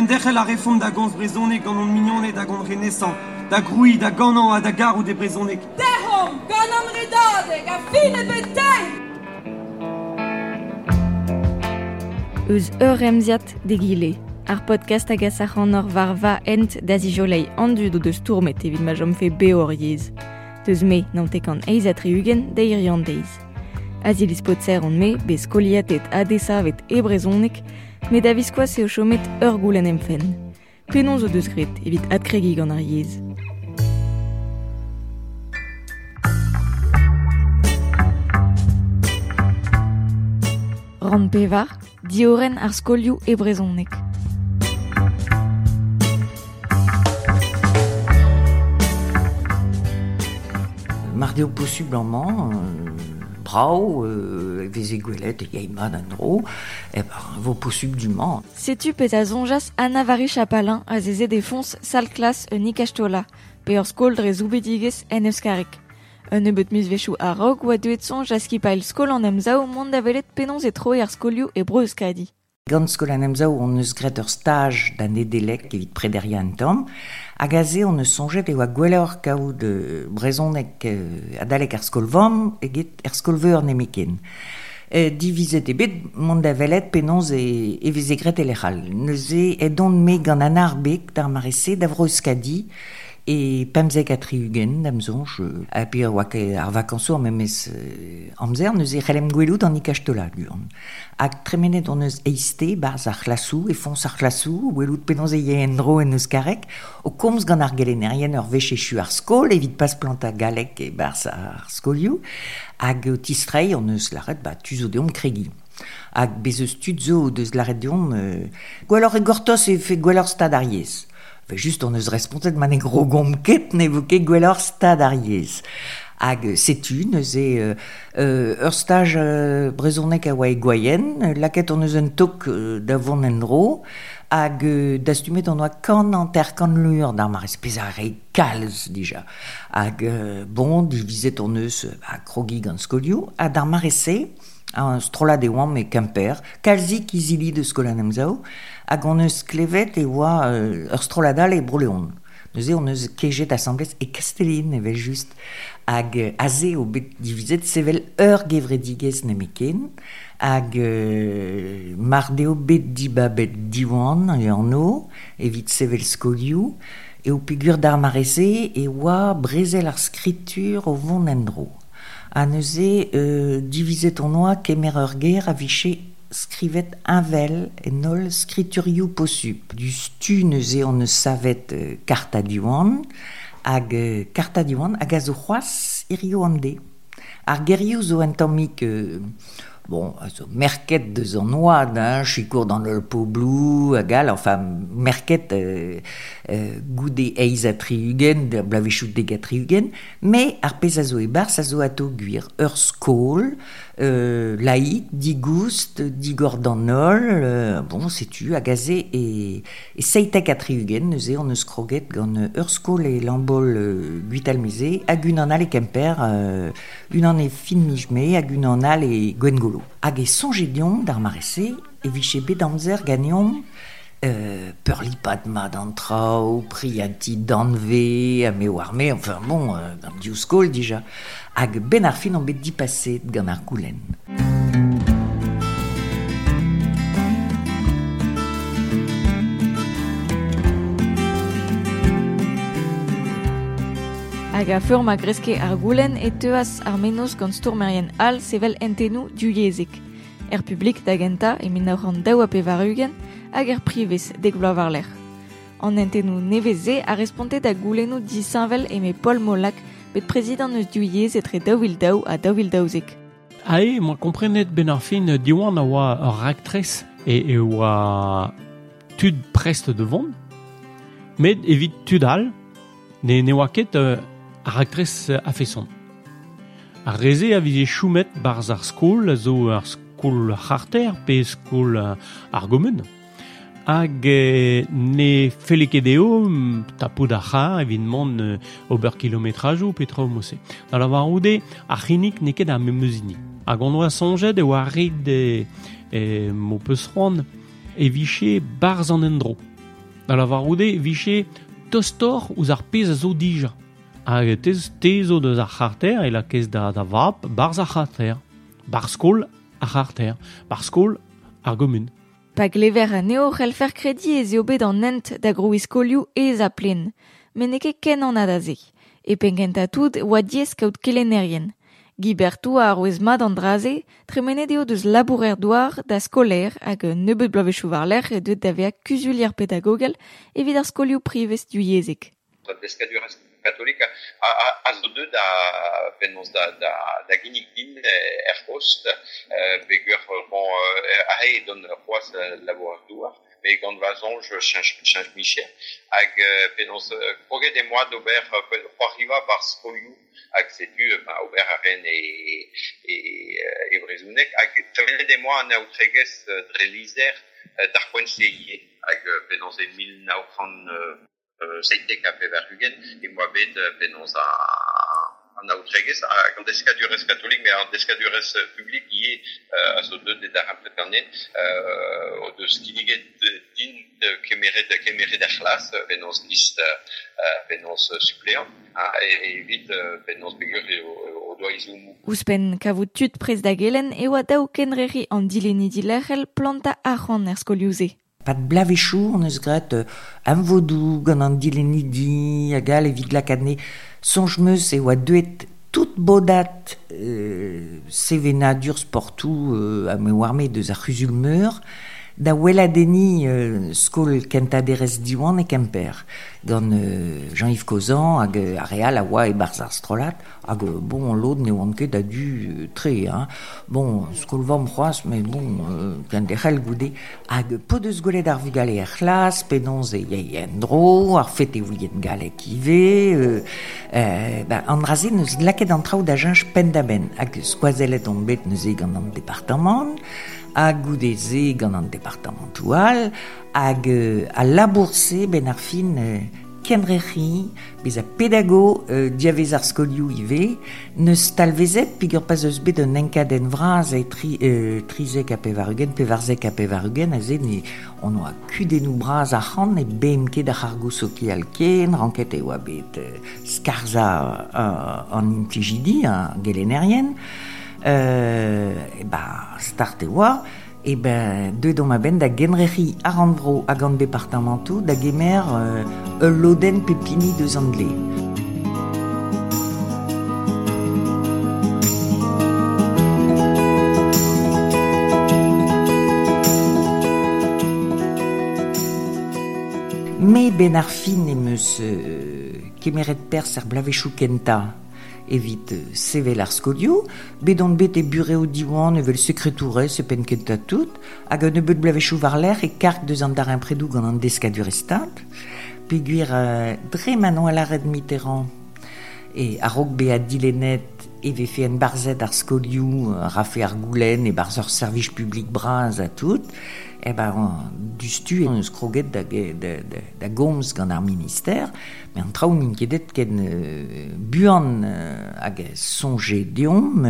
derre la réforme da gons brezonek gant an mignonnet da gant renaissant, da groui, da ganan a da garou de brezonek. Dehom, gant an redadeg, a fin e betei! Eus remziat de gile. Ar podcast hag a sac'han ur var va ent da zijolei andud o deus tourmet evit ma jom fe beor yez. Deus me nantek an eiz atriugen da irian deiz. Azilis potser on me, bez koliatet adesavet e brezonek, met da viskoaz eo chomet ur goulen emfen. Penon zo deus gret evit adkregi gant ar yez. Ran pevar, dioren ar skolioù e brezonek. Mardeo possiblement, brau, veze gwelet e yeimad an dro, vo possiblement. Setu pez a zonjas anavari chapalin a zeze defons sal klas un ikastola, pe ur skol dre zoubedigez en euskarek. Un ebet mis vechou a rog oa duet sonj a skipail skol an emzao mont da velet penons e troi ar skolioù e breu euskadi. Gant skol an emzao on eus gret ur stage d'an edelek evit prederia an tom, hag a ze on eus sonjet eo a gwelleur kaout brezonek adalek ar skol vam eget ar skol veur nemiken. Divizet ebet mont da velet penons e veze gret elechal. Neuze edon me gant an arbek d'ar marese da vreu euskadi, e pemzek atriugen d'amzonj, a pe oak ar vakansour memez amzer, neuze c'hellem gwelout an ikastola guan. Hag tremenet on eus eiste barz ar c'hlassou, e fons ar c'hlassou, welout penons e yen dro en euskarek, o komz gant ar gelenerien ur vechechu ar skol, evit pas planta galek e barz ar skolioù, hag o tistrei on eus laret tuzo deom kregi. Hag bez eus tuzo deus laret deom, gwellor e gortos e fe gwellor stad ar yez. Just on eus respontet man e gro gomp ket ne vo ket gwellor stad ar yez. Hag setu, neuze ur stage brezonek a oa e gwaien, laket on eus un tok da vont en dro, hag dastumet on oa kan an ter kan lur d'ar marez, pez a re kalz dija. Hag bon, divizet on eus krogi gant skolioù, hag d'ar marese, an strollad e oam e Kemper, kalzik izili de skol an emzao, hag on eus klevet e oa ur strolladal e broleon. Neuze on eus kejet assemblez e Castellin evel just, hag aze o bet divizet sevel ur gevredigez nemiken, hag mardeo bet dibabet diwan e an o, evit sevel skolioù, e o pegur d'ar marese e oa brezel ar skritur o vont en dro. Ha neuze divizet on oa kemer ur ger a viche skrivet invel e nol skriturioù possup. Du stu neuze on eus savet karta diwan, hag karta diwan hag a zo c'hoaz irio an de. Ar gerioù zo en tammik bon, also merket deus an oad, chikour dans le poblou, agal, enfin, merket goude eiz a triugen, blavechou deg a triugen, me ar pez a zo e barz a zo ato gwir ur skol, laït, digoust, digor d'an nol, bon, setu, agaze e seitek a triugen, neuze on eus kroget gant ur skol e lambol guitalmeze, hag un an al e Kemper, un an e fin mijme, hag un an al e Gwengolo. Hag e sonjedion d'ar marese, e viche bet amzer ganeom peurlipad ma d'an trao, prianti d'anve, a me war me, enfin bon, gant diou skol dija, hag ben ar fin an bet dipaset gant ar goulenn. Hag a feur ma greske ar goulenn e teuas ar menos gant stourmerien all sevel entenou diouiezek. Er publik da genta e min aoran daou a pevarugen hag er privez dek bloav ar lec'h. An entenou neveze a respontet da goulennou di Saint-Vel e me Paul Molac bet prezidant eus diouiez etre daouil daou a daouil daouzek. Moi komprenet ben ar fin diwan a oa ur raktres e oa tud prest de vont, met evit tud all, ne oa ket ar raktres a feson. Ar reze a vize choumet barz ar skol, zo ar skol c'harter pe skol ar gomun. Hag ne feleket eo tapout ar c'har evit mont ober kilometrajou petra o mose. Da la varoude ar c'hinnik ne ket ar memeuzini. Hag on oa sonjet eo ar rid mo peus c'hoant e viche barz an endro. Da la varoude viché tostor ouz ar pez a zo dija. Hag tezo deus ar c'harter e la kez da vap barz ar c'harter. Bar skol ar c'harter. Bar skol ar gomun. Pa glever a neo c'hell fer kredi e zeo bet an ent da grouiskolioù ez a plen, men eke ken an adaze. E pengentatout oa diez kaout kelenerien. Gibertou a roez mat an draze, tremenet eo deus labourer douar da skoler hag nebeut blavechou war l'er e deut da vea kuzulier pedagogel evit ar skolioù privez du yezek. Deskadurez katolika a zo deut da ginnik din post pegur bon ahe don c'hoaz labourer douar mais gant vazon je change Michel hag penaos kroget e moa d'ober c'hoariva bar skolioù hag setu ober a ren e brezhounek hag tremenet e moa an aoutregez dre lizer d'ar poent-seie hag penaos e 1900 seitek a pevarugen e moa bet penaos an aoutregez gant deskadurez katolik mais an deskadurez publik ie a zo deut d'ar ampletanen o deus kiniget din kemeret ar c'hlas penaos gist penaos suppléant evit penaos pegur o doa izoumou. Ouzpen kavout tud prez da gelen e oa daou kenreri an dileni dilerc'hel planta arc'han er skolioù-se. Pat blavechou on eus gret an vodou gant an dileni di hag al evit lakadne sonj meus e oa deuet tout bodat sevenadur sportou a me warme deus ar c'huzul meur da weladeni skol kentaderez diwan e Kemper gant Jean-Yves Cozan hag a real a oa e barz ar strolat hag bon l'od ne oan ket a du tre bon skol vam c'hoaz mais bon kenderel goude hag po deus golet ar vugale ar c'hlas penonz e yeien dro ar fet e ouien galek ive an draze neus laket an traoù da jenj pen da ben hag skoazelet on bet neus e gant an departament hag goudeze gant an departamentoal hag a labourse ben ar fin kenreri bez a pedago diavez ar skolioù ive neus talvezet pigur pas eus bet un enkaden vraz e trizek a pevarzek a pevarugen a zed ne on oa kudennou braz a c'han e bem ket ar c'hargousoki al ken ranket e oa bet skarza an implijidi a gelenerien start e oa e deuet ma ben da genreri ar andro hag an departamentou da gemer loden pepini deus an dle. Me ben ar fin em eus kemeret pers ar blavechou kenta evit sevel ar skolioù, bet on bet e bureo diwan evel sekretourez e pen kenta tout, hag an ebeut blavechou war l'er e kark deus an dar impredou gant an deskadurestad, peguir dre manon a laret Mitterrand e a rog be a dilenet eve fe en barzet ar skolioù, rafe ar goulen e barz ur servij publik braz a tout, dustu on eus kroget da gomz gant ar minister, mais an traoù min kedet ken buan hag sonje deom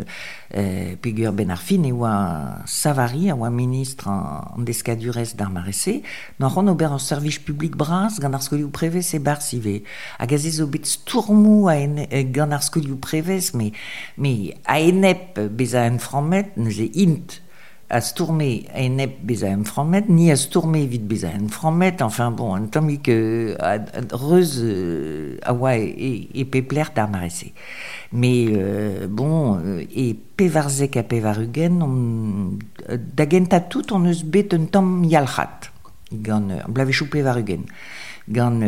pegur ben ar fin e oa Savary a oa ministre an deskadurez d'ar marese, n'an ron ober an servij publik braz gant ar skolioù prevez e barz ive. Hag a zez o bet stourmou gant ar skolioù prevez, mais a enep bez a enframmet neus e int a stourme a enep bez a enframmet, ni a stourme evit bez a enframmet, enfin bon, un tammik reuz a oa e pepler d'ar marese. Mais bon, e pevarzek a pevarugen, da genta tout on eus bet un tamm yalc'hat, gant blavechou pevarugen, gant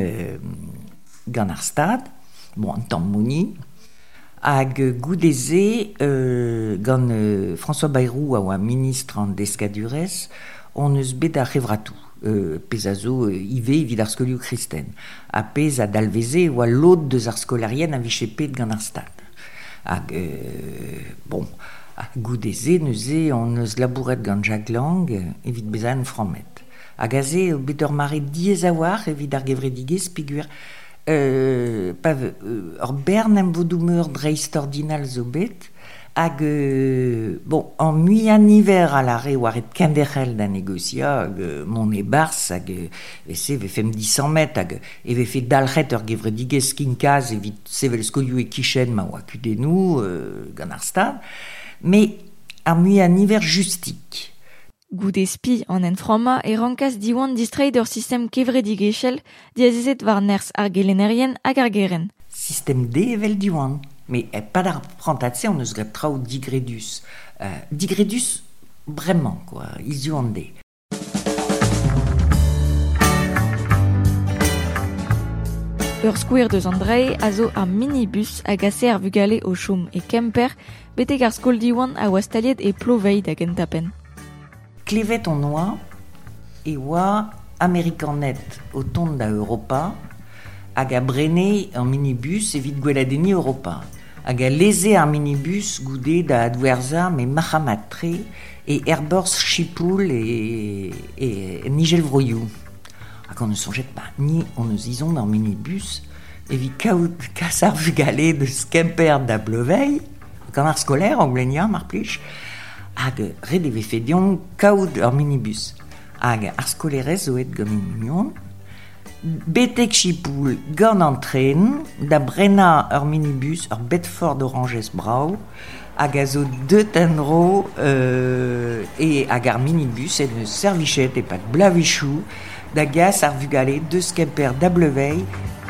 ar stad, bon, un tamm mouni, hag goudeze gant François Bayrou a oa ministre an deskadurez, on eus bet a c'hevratou. Pez a zo ive evit ar skolioù kristen. A pez a dalveze oa l'od deus ar skolarien a viche pet gant ar stad. Hag, bon, goudeze neuze on eus labouret gant Jacques Lang evit bez a enframmet. Hag a ze bet ur mare diez a war evit ar gevredigez peguer ur bern em vodou meur dreist ordinal zo bet, Hag, bon, en muian hiver à l'arrêt waret kenderel da negocia, mon e bars, hag, se ve fem 10 mètres, hag, e ve fait dalret ur gevredigez kinkaz, evit sevel skolioù e kichen ma oa kudenou, gant ar stad, mais en muian hiver justik. Goude spi an en froma e rankas diwan distreid ur sistem kevredigechel diazezet war ners ar gelenerien hag ar geren. Système D evel diwan. Mais pas d'apprentissage, on nous gret trao digredus. Digredus, vraiment, quoi. Ils y ont des. Ur skouer deus Andrei a zo ar minibus hag ase ar vugale o chom e kemper betek ar skol diwan a oa staliet e ploveit hag entapen. Klevet on oa e oa Amerikanet o tont da Europa hag a brene an minibus evit gweladeni Europa. Hag a leze ar minibus goude da adwerza me Mahamat tre e Erbors Chipoul e Nigel Vroyou. Hag on ne sonjet pas ni on eus izon an minibus evit kaout kas ar vugale deus kemper da Blevei gant ar skoler an glenia mar plij hag red eve fedion kaout ar minibus hag ar skolerez zo et gant union betek chipoul gant an tren da brena ur minibus ur Bedford Oranges brau hag a zo deut enro e hag ar minibus en eus servichet e pat blavichou da gas ar vugale deus kemper da Blevei.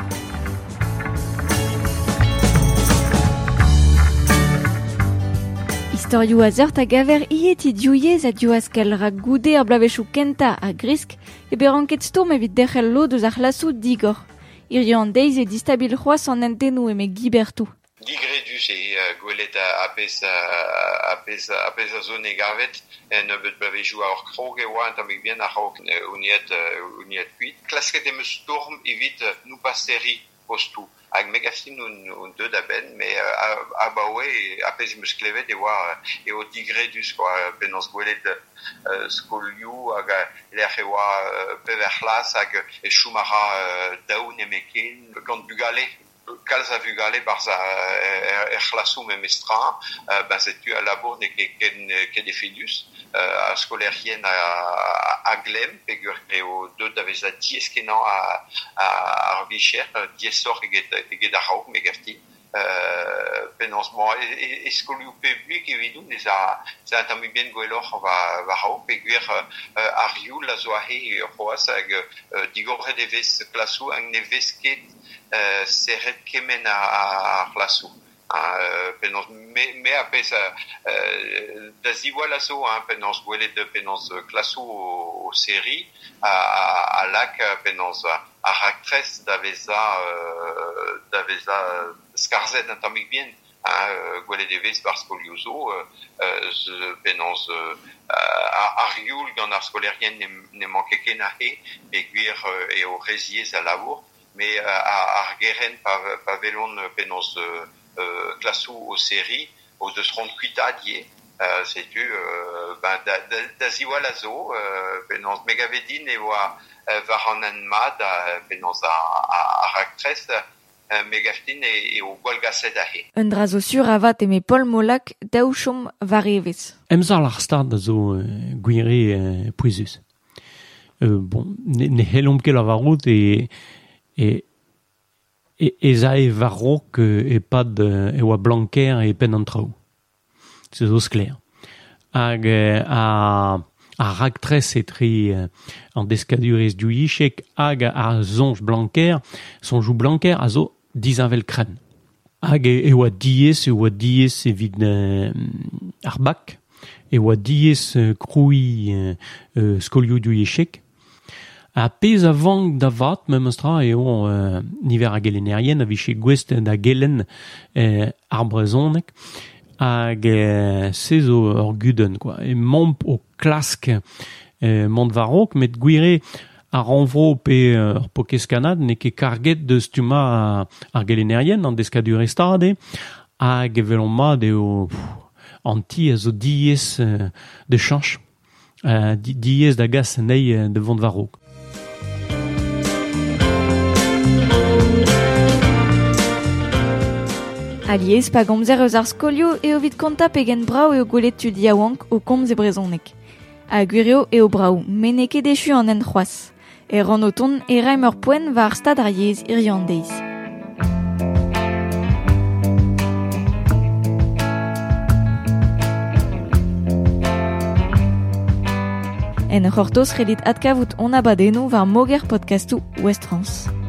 Historiou a zeurt a gaver ieti diouiez a diouaskal ra goude ar blavechou kenta a grisk e beranket stourm evit derc'hel lo deus ar c'hlassou digor. Irio an deiz e distabil c'hoaz an entenou eme gibertou. Digredus e gwelet apes a zone gavet en bet blavechou a ur krog e oa entamik bien a raok uniet kuit. Klasket em eus storm evit nou pasteri postou. Hag megastin un deud a ben, me a baoe apes em eus klevet e oa eo digredus, penans gwelet skolioù hag l'er e oa pever c'hlas hag e choumara daoun emeken gant bugale. Kalz a vugale barz er c'hlassou memestra, ben setu a labour ne ket e fedus, a skolerien a glem, pegur eo deud da vez a diez kenan ar vicher, diez sor eget a raouk megafti. Penonsement e skolioù publik evidou za entamik bien gwelloc'h va raouk pegur ar youl a zo ahe c'hoaz hag digoret e vez klassou hag ne vez ket seret kemen a c'hlassou. Penans me apes da ziwal a zo penans gwelet penans klassou o seri a lak penans a raktres da veza skarzet entamik bien gwelet e vez bar skolioù penans ar youl gant ar skolerien ne manke ken ahe pegur eo reziez a labour. Mais ar geren pa velon penans klassou o seri o deus ront kuitadie setu da ziwal a zo penans megavedin e oa var an anmad penans a raktres megaftin o gwalgaset ahe. Un dra zo sur avat eme Paul Molak daou chom varevez. Emzal ar stad a zo gwire pouezus. Bon, ne helom ket la varout e za e varrok e pad e oa blanker e pen an traoù. Se zo skler. Hag a raktres e tri an deskadurez diouichek hag a zonj blanker, sonjou blanker a zo dizavel kren. Hag e oa diez evit ar bak, e oa diez kroui skolioù diouichek. A pez a vang da vat, mem astra eo niver a gelenerien a viche gwest da gelen ar brezonek hag se zo ur guden, quoi. E mamp o klask mont varok, met gwire a renvro pe ur pokeskanad ne ket karget deus tuma ar gelenerien an deskadure stade hag velon mat eo anti a zo diez de chanch, diez da gas nei de vont varok. Aliez pa gomzer eus ar skolio eo vid konta pegen brao eo gwelet tud yaouank o komz e brezonek. A gwirio eo brao, men e ket echu an en c'hoaz. E ran o ton e raim ur poen va ar stad ar yez irian deiz. En c'hortoz relit adkavout on abadennou var moger podcastou Ouest France.